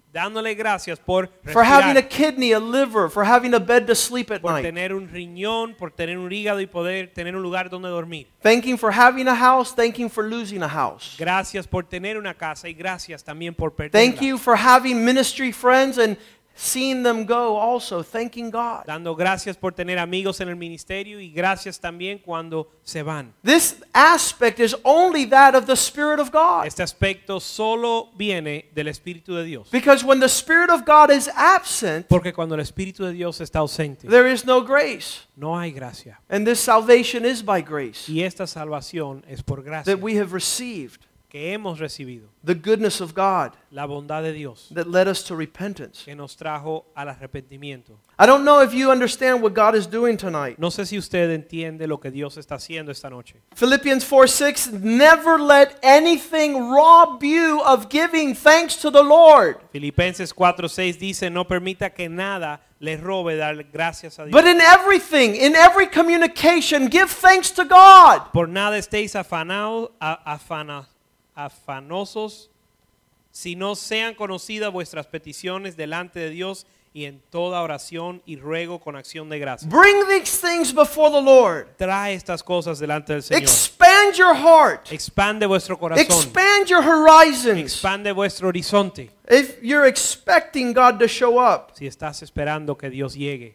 dándole gracias por for having a respirar, kidney, a liver, for having a bed to sleep at por night. tener un riñón, por tener un hígado y poder tener un lugar donde dormir. Thanking for having a house, thanking for losing a house. Gracias por tener una casa y gracias también por Thank perderla. you for having ministry friends and seeing them go also, thanking God. Dando gracias por tener amigos en el ministerio y gracias también cuando se van. This aspect is only that of the Spirit of God. Este aspecto solo viene del Espíritu de Dios. Because when the Spirit of God is absent, Porque cuando el Espíritu de Dios está ausente, there is no grace. no hay gracia. And this salvation is by grace Y esta salvación es por gracia that we have received. que hemos recibido. The goodness of God La bondad de Dios that led us to repentance. que nos trajo al arrepentimiento. I don't know if you understand what God is doing tonight. No sé si usted entiende lo que Dios está haciendo esta noche. Philippians four six, never let anything rob you of giving thanks to the Lord. Filipenses cuatro seis dice, no permita que nada le robe dar gracias a Dios. But in everything, in every communication, give thanks to God. Por nada estéis afanados, afana, afanosos, si no sean conocidas vuestras peticiones delante de Dios y en toda oración y ruego con acción de gracia. Bring these things before the Lord. Trae estas cosas delante del Señor. Expand your heart. Expande vuestro corazón. Expand your horizons. Expande vuestro horizonte. If you're expecting God to show up. Si estás esperando que Dios llegue.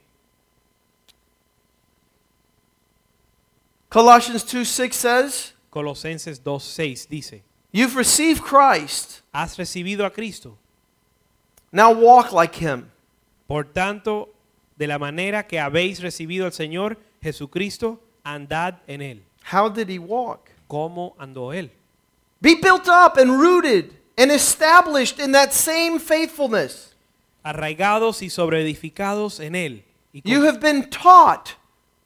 Colossians two six says, Colosenses dos seis dice, you've received Christ. has recibido a Cristo. Now walk like him. Por tanto, de la manera que habéis recibido al Señor Jesucristo, andad en él. How did he walk? ¿Cómo andó él? Be built up and rooted and established in that same faithfulness. Arraigados y sobreedificados en él. Y, con- You have been taught,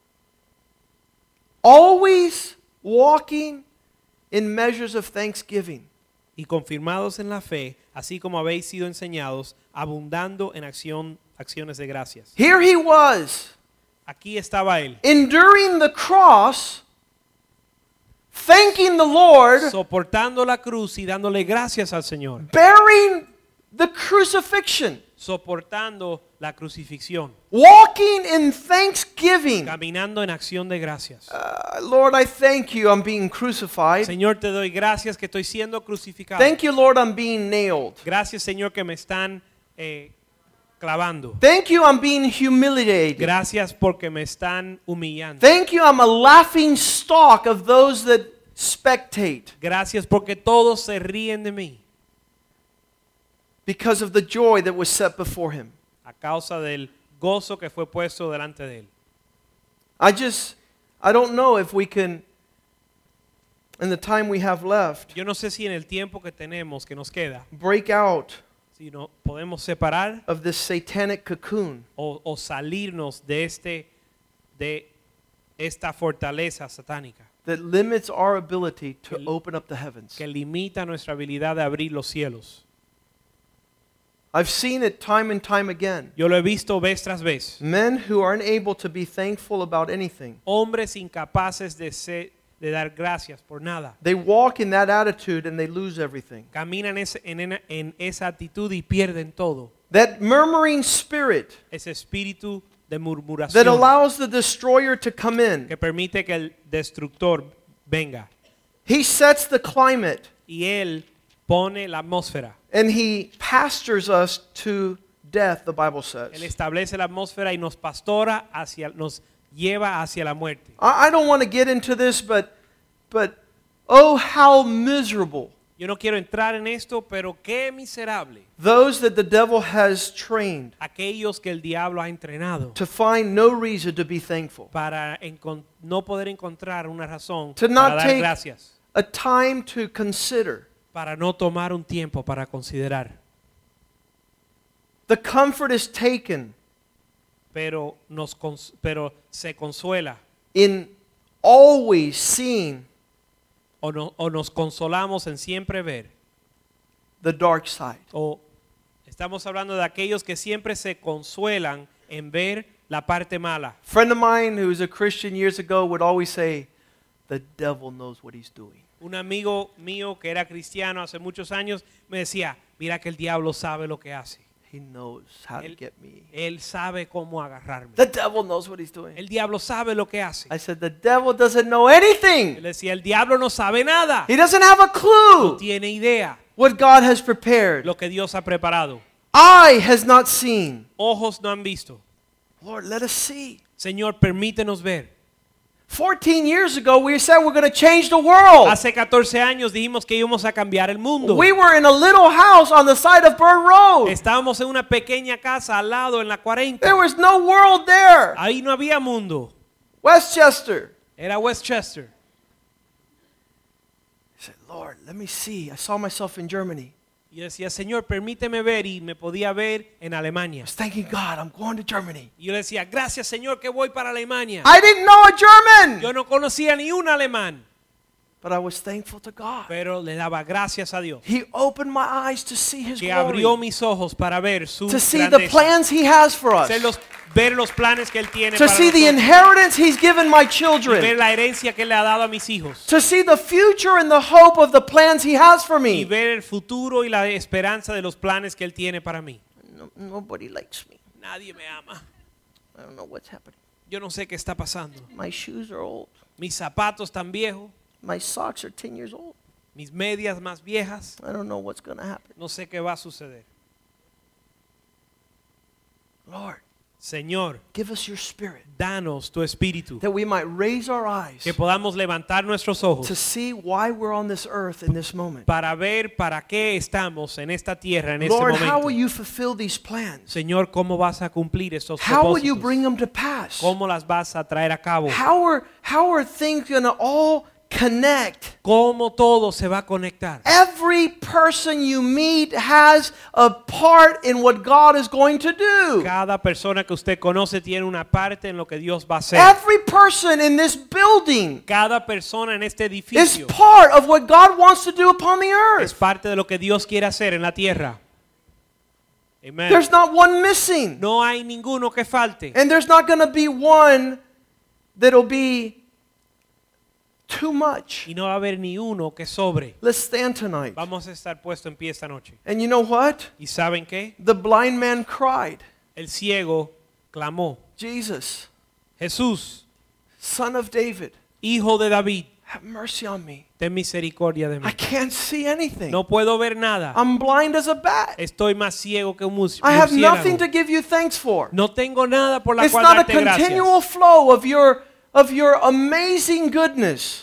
always walking in measures of thanksgiving. y confirmados en la fe, así como habéis sido enseñados, abundando en acción, acciones de gracias. Here he was, Aquí estaba él, enduring the cross, thanking the Lord, soportando la cruz y dándole gracias al Señor, bearing the crucifixion, soportando la crucifixión, walking in thanksgiving. caminando en acción de gracias. Uh, Lord, I thank you I'm being crucified. Señor, te doy gracias que estoy siendo crucificado. Thank you, Lord, I'm being nailed. Gracias, Señor, que me están eh, clavando. Thank you, I'm being humiliated. Gracias porque me están humillando. Thank you, I'm a laughing stock of those that spectate Gracias porque todos se ríen de mí because of the joy that was set before him. a causa del gozo que fue puesto delante de él. I just, I don't know if we can, in the time we have left, Yo no sé si en el tiempo que tenemos, que nos queda, break out si no podemos separar of this satanic cocoon o, o salirnos de este de esta fortaleza satánica that limits our ability to Que- open up the heavens. que limita nuestra habilidad de abrir los cielos. I've seen it time and time again. Yo lo he visto vez tras vez. Men who are unable to be thankful about anything. Hombres incapaces de, ser, de dar gracias por nada. They walk in that attitude and they lose everything. Caminan ese- en, en- en esa actitud y pierden todo. That murmuring spirit Ese espíritu de that murmuración allows the destroyer to come in. que permite que el destructor venga. He sets the climate Y él pone la atmósfera. and he pastors us to death, the Bible Él says. establece la atmósfera y nos pastora hacia, nos lleva hacia la muerte. I I don't want to get into this, but, but oh, how miserable Yo no quiero entrar en esto, pero qué miserable those that the devil has trained aquellos que el diablo ha entrenado to find no reason to be thankful. para encon- no poder encontrar una razón To para not dar take gracias, a time to consider para no tomar un tiempo para considerar. the comfort is taken Pero, nos cons- pero se consuela in always seeing o, no- o nos consolamos en siempre ver the dark side. o estamos hablando de aquellos que siempre se consuelan en ver la parte mala. A friend of mine who was a Christian years ago would always say, the devil knows what he's doing. Un amigo mío que era cristiano hace muchos años me decía, Mira que el diablo sabe lo que hace. He knows how to Él, get me. él sabe cómo agarrarme. The devil knows what he's doing. El diablo sabe lo que hace. I said, the devil doesn't know Él anything. decía, el diablo no sabe nada. He doesn't have a No clue tiene idea what God has prepared. lo que Dios ha preparado. Eye has not seen. Ojos no han visto. Lord, let us see. Señor, permítenos ver. fourteen years ago, we said we're going to change the world. Hace catorce años dijimos que íbamos a cambiar el mundo. We were in a little house on the side of Bird Road. Estábamos en una pequeña casa al lado en la cuarenta. There was no world there. Ahí no había mundo. Westchester. Era Westchester. I said, Lord, let me see. I saw myself in Germany. Y yo decía, Señor, permíteme ver, y me podía ver en I Alemania. was thanking God, I'm going to Germany. Y yo le decía, gracias Señor que voy para Alemania. I didn't know a German, Yo no conocía ni un alemán, but I was thankful to God. pero le daba gracias a Dios He opened my eyes to see His que abrió glory, mis ojos para ver su to see the grandeza, plans He has for us, Ser los- ver los planes que Él tiene to para see the nosotros, inheritance He's given my y ver children, la herencia que Él le ha dado a mis hijos, to see the future and the hope of the plans He has for y me. ver el futuro y la esperanza de los planes que Él tiene para mí. No, nobody likes me. Nadie me ama. I don't know what's happening. Yo no sé qué está pasando. My shoes are old. Mis zapatos tan viejos, My socks are ten years old. mis medias más viejas, I don't know what's going to happen. no sé qué va a suceder. Lord, Señor, give us your spirit danos tu espíritu, that we might raise our eyes que podamos levantar nuestros to ojos see why we're on this earth in this moment. para ver para qué estamos en esta tierra en este Lord, how will momento. you fulfill these plans? Señor, ¿cómo vas a cumplir estos How will you bring propósitos? them to pass? ¿Cómo las vas a traer a cabo? How are, how are things going to all connect? ¿Cómo todo se va a conectar? Every person you meet has a part in what God is going to do. Cada persona que usted conoce tiene una parte en lo que Dios va a hacer. Every person in this building Cada persona en este is edificio part of what God wants to do upon the es earth. parte de lo que Dios quiere hacer en la tierra. Amen. There's not one missing. No hay ninguno que falte. And there's not going to be one that'll be too much. Y no va a haber ni uno que sobre. Let's stand tonight. Vamos a estar puesto en pie esta noche. And you know what? ¿Y saben qué? The blind man cried, El ciego clamó, Jesus, Jesús, Son of David, Hijo de David, have mercy on me. ten misericordia de I mí. can't see anything. No puedo ver nada. I'm blind as a bat. Estoy más ciego que un mus- I have nothing murciélago. to give you thanks for. No tengo nada por la It's cual not a darte gracias. continual flow of your of your amazing goodness.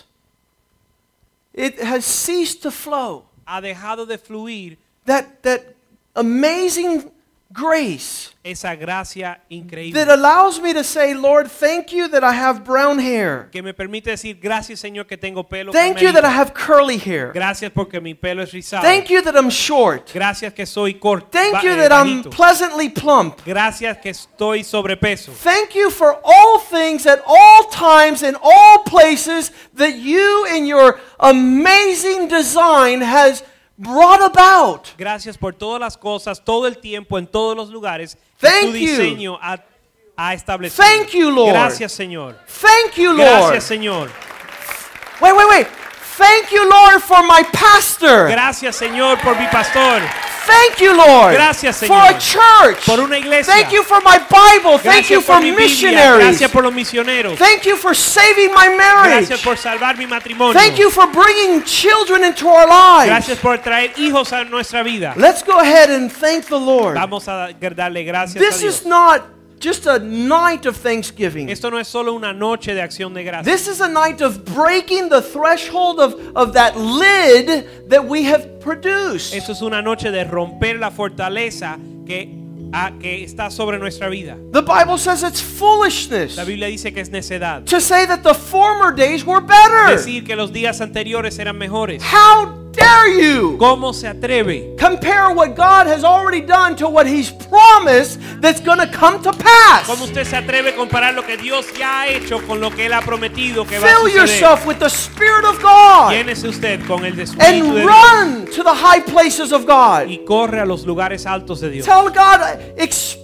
It has ceased to flow. Ha dejado de fluir That that amazing grace esa gracia increíble that allows me to say, Lord, thank you that I have brown hair. que me permite decir gracias Señor que tengo pelo Thank you camerino. that I have curly hair. Gracias porque mi pelo es rizado. Thank you that I'm short. Gracias que soy corto. Thank ba- you eh, that I'm bajito. pleasantly plump. Gracias que estoy sobrepeso. Thank you for all things at all times in all places that you in your amazing design has brought about. Gracias por todas las cosas, todo el tiempo, en todos los lugares que Thank tu you. diseño ha, ha establecido. Thank you, Lord. Gracias, Señor. Thank you, Lord. Gracias, Señor. Wait, wait, wait. Thank you, Lord, for my pastor. Gracias, Señor, por mi pastor. Thank you, Lord, Gracias, for Señor. a church. Por una iglesia. Thank you for my Bible. Thank Gracias you por for mi Biblia. missionaries. Gracias por los misioneros. Thank you for saving my marriage. Gracias por salvar mi matrimonio. Thank you for bringing children into our lives. Gracias por traer hijos a nuestra vida. Let's go ahead and thank the Lord. Vamos a darle gracias This a is Dios. not just a night of thanksgiving. Esto no es solo una noche de acción de gracias. This is a night of breaking the threshold of, of that lid that we have produced. Esto es una noche de romper la fortaleza que, a- que está sobre nuestra vida. The Bible says it's foolishness La Biblia dice que es necedad. to say that the former days were better. Decir que los días anteriores eran mejores. How dare you ¿Cómo se atreve compare what God has already done to what He's promised that's going to come to pass? ¿Cómo usted se atreve a comparar lo que Dios ya ha hecho con lo que Él ha prometido que va a Fill suceder? yourself with the Spirit of God Llénese usted con el espíritu and de Dios run to the high places of God. y corre a los lugares altos de Dios. Tell God, express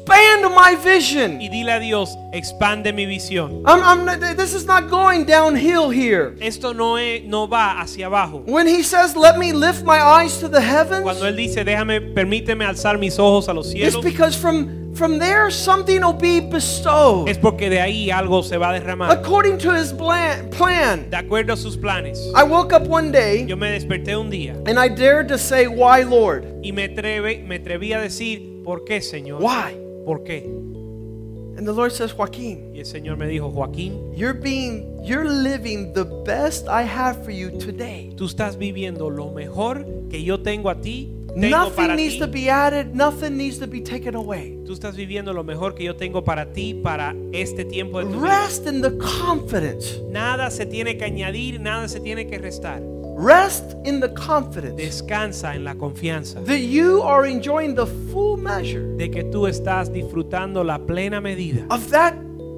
expand my vision. Y dile a Dios, expande mi visión. I'm, I'm not, this is not going downhill here. Esto no, es, no va hacia abajo. When he says, let me lift my eyes to the heavens, Cuando Él dice, déjame, permíteme alzar mis ojos a los it's cielos, because from, from there something will be bestowed. es porque de ahí algo se va a derramar. According to his plan, plan. De acuerdo a sus planes. I woke up one day Yo me desperté un día and I dared to say, why, Lord? y me, atreve, me atreví a decir, ¿por qué, Señor? Why? ¿Por qué? And the Lord says, Joaquin, Y el Señor me dijo, Joaquín, you're being, you're living the best I have for you today. tú estás viviendo lo mejor que yo tengo a ti, tengo para Nothing needs ti. to be added, nothing needs to be taken away. Tú estás viviendo lo mejor que yo tengo para ti, para este tiempo de tu vida. Rest in the confidence. Nada se tiene que añadir, nada se tiene que restar. Rest in the confidence Descansa en la confianza that you are enjoying the full measure de que tú estás disfrutando la plena medida of that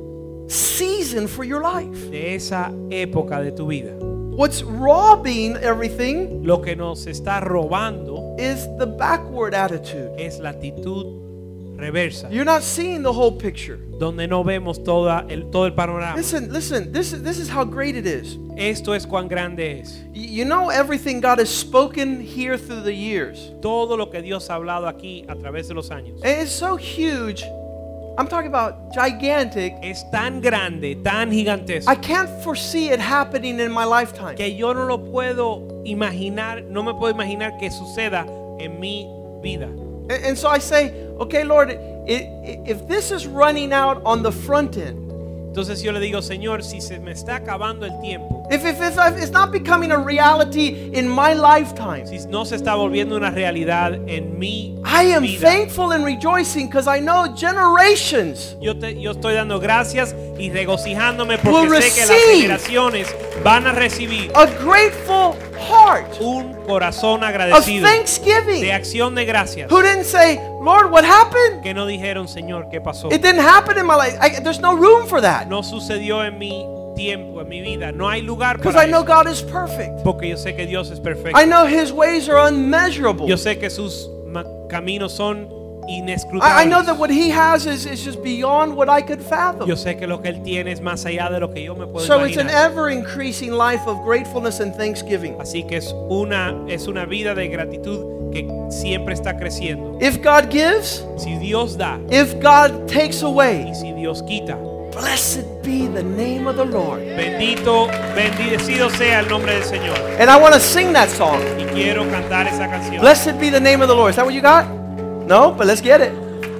season for your life. de esa época de tu vida. What's robbing everything Lo que nos está robando is the backward attitude. es la actitud reversa, You're not seeing the whole picture. donde no vemos toda el, todo el panorama. Listen, listen, this is, this is how great it is. Esto es cuán grande es. Y- You know everything God has spoken here through the years. Todo lo que Dios ha hablado aquí a través de los años And it's so huge. I'm talking about gigantic. es tan grande, tan gigantesco, I can't foresee it happening in my lifetime. que yo no lo puedo imaginar, no me puedo imaginar que suceda en mi vida. And, and so I say, okay, Lord, i- i- if this is running out on the front end, Entonces yo le digo, Señor, si se me está acabando el tiempo, if, if, if it's not becoming a reality in my lifetime, si no se está volviendo una realidad en mi I am vida, thankful and rejoicing because I know generations yo, te- yo estoy dando gracias y regocijándome Will porque sé que las receive generaciones van a recibir a grateful heart un corazón of agradecido thanksgiving de acción de gracias, who didn't say, Lord, what happened? que no dijeron, Señor, ¿qué pasó? It didn't happen in my life. I, there's no room for that No sucedió en mi tiempo, en mi vida. No hay lugar because para I know eso, God is perfect. porque yo sé que Dios es perfecto. I know His ways are unmeasurable. Yo sé que sus ma- caminos son I, I know inescrutables. that what He has is, is just beyond what I could fathom. Yo sé que lo que Él tiene es más allá de lo que yo me puedo So it's an imaginar. ever increasing life of gratefulness and thanksgiving. Así que es una, es una vida de gratitud que siempre está creciendo. If God gives, Si Dios da if God takes away, y si Dios quita, blessed be the name of the Lord. bendito, bendecido sea el nombre del Señor. And I want to sing that song. Y quiero cantar esa canción. Blessed be the name of the Lord. Is that what you got? No, but let's get it.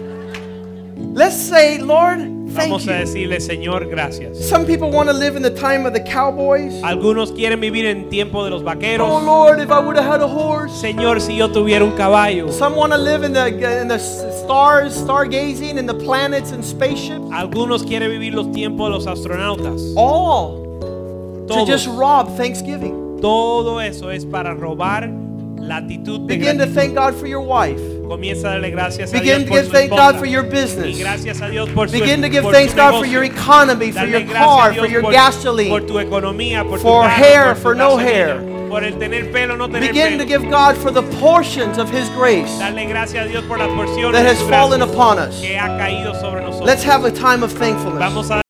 Let's say, Lord, thank Vamos a you. decirle, Señor, gracias. Some people want to live in the time of the cowboys. Algunos quieren vivir en tiempo de los Oh vaqueros. Lord, if I would have had a horse. Señor, si yo tuviera un caballo. Some want to live in the in the stars, stargazing, in the planets and spaceships. Algunos quieren vivir los tiempos de los astronautas. All to Todos. just rob Thanksgiving. Todo eso es para robar la actitud de Begin to gratitud. thank God for your wife. Comienza a darle gracias a Begin Dios to por give su thanks esposa. God for your Y business. gracias a Dios por su Begin to give por thanks su God for negocio. your economy, for Darle your gracias a car, Dios for your por, gasoline. por tu economía, por for tu carro, hair, por tu for no gasolina, hair. por el tener pelo, no tener Begin to pelo. give God for the portions of His grace Darle gracias a Dios por las porciones that de has su fallen gracia upon us. que ha caído sobre nosotros. Let's have a time of thankfulness. Vamos a